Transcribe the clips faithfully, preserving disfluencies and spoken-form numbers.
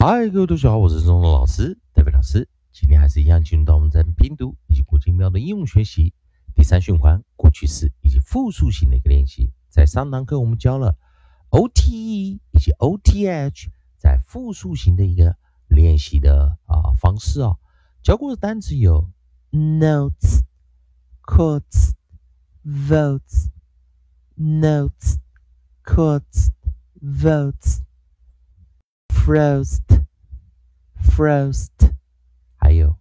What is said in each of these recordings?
嗨，各位同学好，我是中东老师，戴维老师。今天还是一样进入到我们在拼读以及国际音标的应用学习第三循环过去式以及复数型的一个练习。在上堂课我们教了 O T E 以及 O T H 在复数型的一个练习的啊方式啊。教过的单词有 notes、quotes、votes、notes、quotes、votes、frost、frost， 还有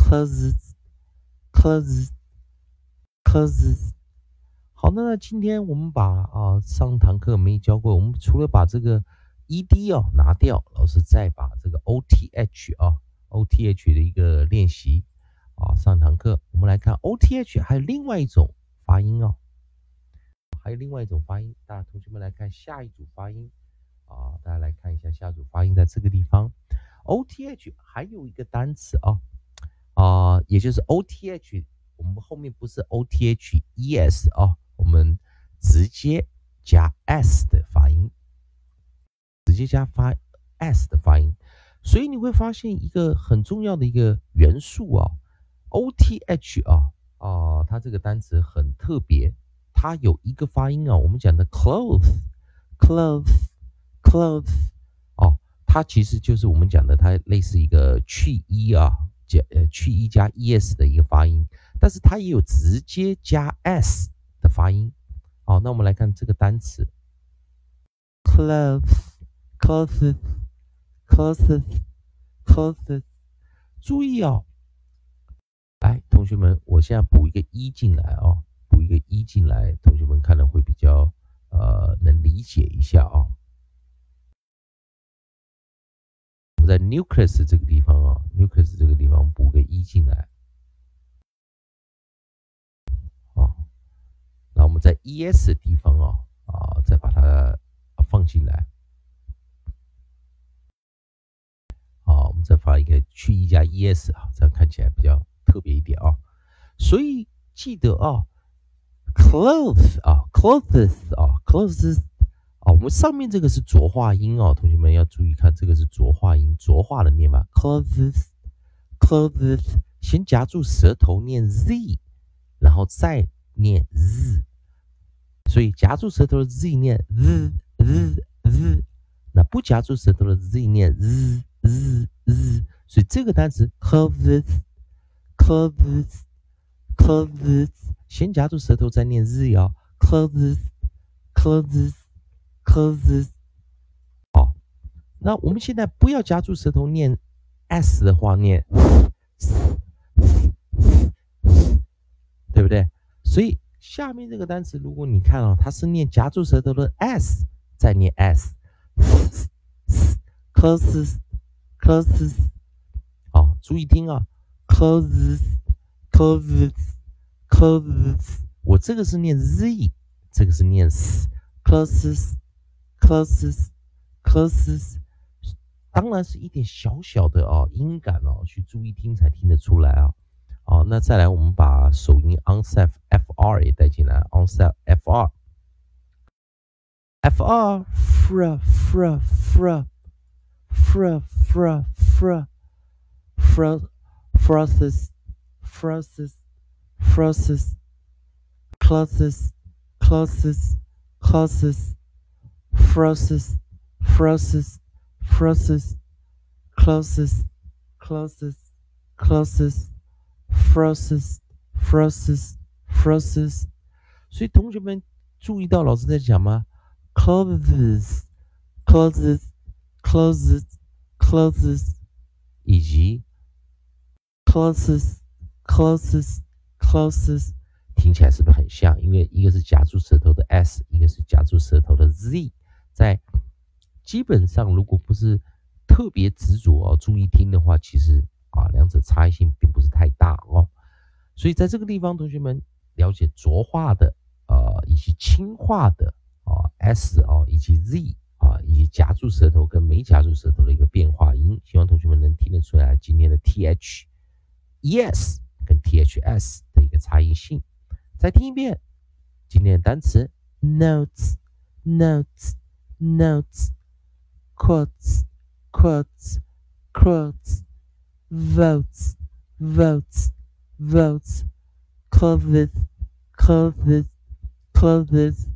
closes、closes、closes。好，那今天我们把啊上堂课没教过，我们除了把这个 ed 哦拿掉，老师再把这个 O T H 啊 O T H 的一个练习啊上堂课，我们来看 O T H 还有另外一种发音哦，还有另外一种发音，大家同学们来看下一组发音啊，大家来看一下下一组发音在这个地方 O T H 还有一个单词啊啊，也就是 O T H， 我们后面不是 O T H E S 啊，我们直接加 S 的发音，直接加发 S 的发音，所以你会发现一个很重要的一个元素啊 ，O T H 啊啊，它这个单词很特别，它有一个发音啊，我们讲的 clothes、clothes、clothes 哦，它其实就是我们讲的，它类似一个去 e 啊，加呃去 e 加 es 的一个发音，但是它也有直接加 s 的发音。好，那我们来看这个单词 clothes、clothes、clothes、clothes， 注意哦，来，同学们，我现在补一个一进来哦，补一个一进来，同学们看了会比较呃能理解一下啊、哦。我们在 nucleus 这个地方啊 ，nucleus 这个地方补个一进来，啊，那我们在 es 的地方啊啊，再把它放进来，啊，我们再发一个去 e 加 es 啊，这样看起来比较特别一点啊。所以记得啊 ，clothes 啊 ，clothes 啊 ，clothes 啊，我们上面这个是浊化音哦，同学们要注意看，这个是浊化音，浊化的念法 clothes。clothes 先夹住舌头念 z， 然后再念 z， 所以夹住舌头的 z 念 z z z， 那不夹住舌头的 z 念 z z z， 所以这个单词 clothes clothes clothes 先夹住舌头再念 z 哦 clothes clothes clothes。 好，那我们现在不要夹住舌头念 s 的话念对不对？所以下面这个单词，如果你看哦，它是念夹住舌头的 s， 再念 s，closes closes， 好，注意听啊 ，closes closes closes， 我这个是念 z， 这个是念 s，closes closes closes， 当然是一点小小的哦音感哦，去注意听才听得出来啊。好，那再来我们把首音 onset fr 也带进来 ，onset fr fr fr fr fr fr fr fr fr frosses frosses frosses closes closes closes frosses frosses frosses closes closes closes frosses frosses frosses， 所以同学们注意到老师在讲吗 ？closes closes closes closes 以及 closes closes closes， 听起来是不是很像？因为一个是夹住舌头的 s， 一个是夹住舌头的 z， 在基本上如果不是特别执着哦，注意听的话，其实啊，两者差异性并不是太大哦。所以在这个地方，同学们了解浊化的呃以及轻化的啊 s 啊以及 z 啊以及夹住舌头跟没夹住舌头的一个变化音，希望同学们能听得出来今天的 the、es 跟 ths 的一个差异性。再听一遍今天的单词 notes、notes、notes、quotes、quotes、 quotes, votes, votes, votes, clothes, clothes, clothes,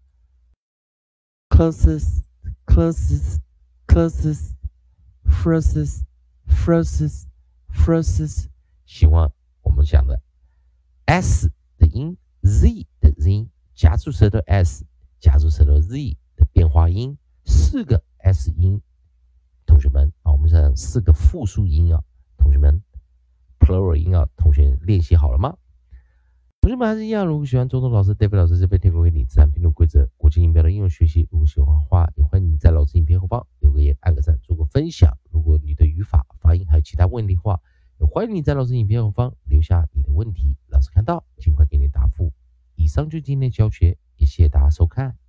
clothes, clothes, clothes, frozen, frozen, frozen。 希望我们讲的 s 的音 z 的音夹住舌头 s 夹住舌头 z 的变化音，四个 s 音，同学们啊，我们讲四个复数音啊，同学们 plural 音啊，同学练习好了吗？同学们还是一样，如果喜欢周东老师 David 老师这边提供给你自然拼读规则、国际音标的应用学习，如果喜欢的话，也欢迎你在老师影片后方留个言、按个赞、做个分享。如果你的语法、发音还有其他问题的话，也欢迎你在老师影片后方留下你的问题，老师看到尽快给你答复。以上就是今天的教学，也谢谢大家收看。